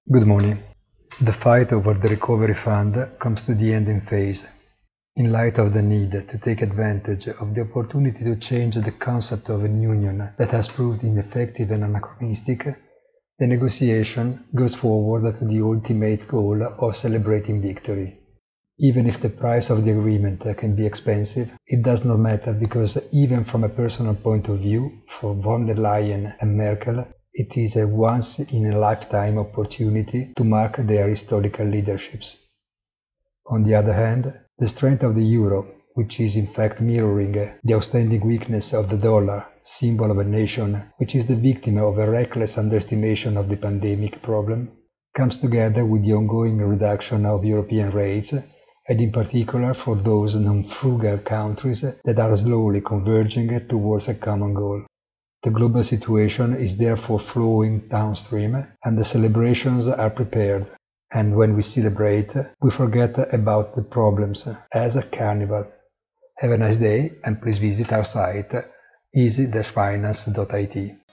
Good morning. The fight over the recovery fund comes to the ending phase. In light of the need to take advantage of the opportunity to change the concept of a union that has proved ineffective and anachronistic, the negotiation goes forward to the ultimate goal of celebrating victory. Even if the price of the agreement can be expensive, it does not matter because even from a personal point of view, for von der Leyen and Merkel, it is a once-in-a-lifetime opportunity to mark their historical leaderships. On the other hand, the strength of the euro, which is in fact mirroring the outstanding weakness of the dollar, symbol of a nation which is the victim of a reckless underestimation of the pandemic problem, comes together with the ongoing reduction of European rates, and in particular for those non-frugal countries that are slowly converging towards a common goal. The global situation is therefore flowing downstream, and the celebrations are prepared. And when we celebrate, we forget about the problems as a carnival. Have a nice day, and please visit our site easy-finance.it.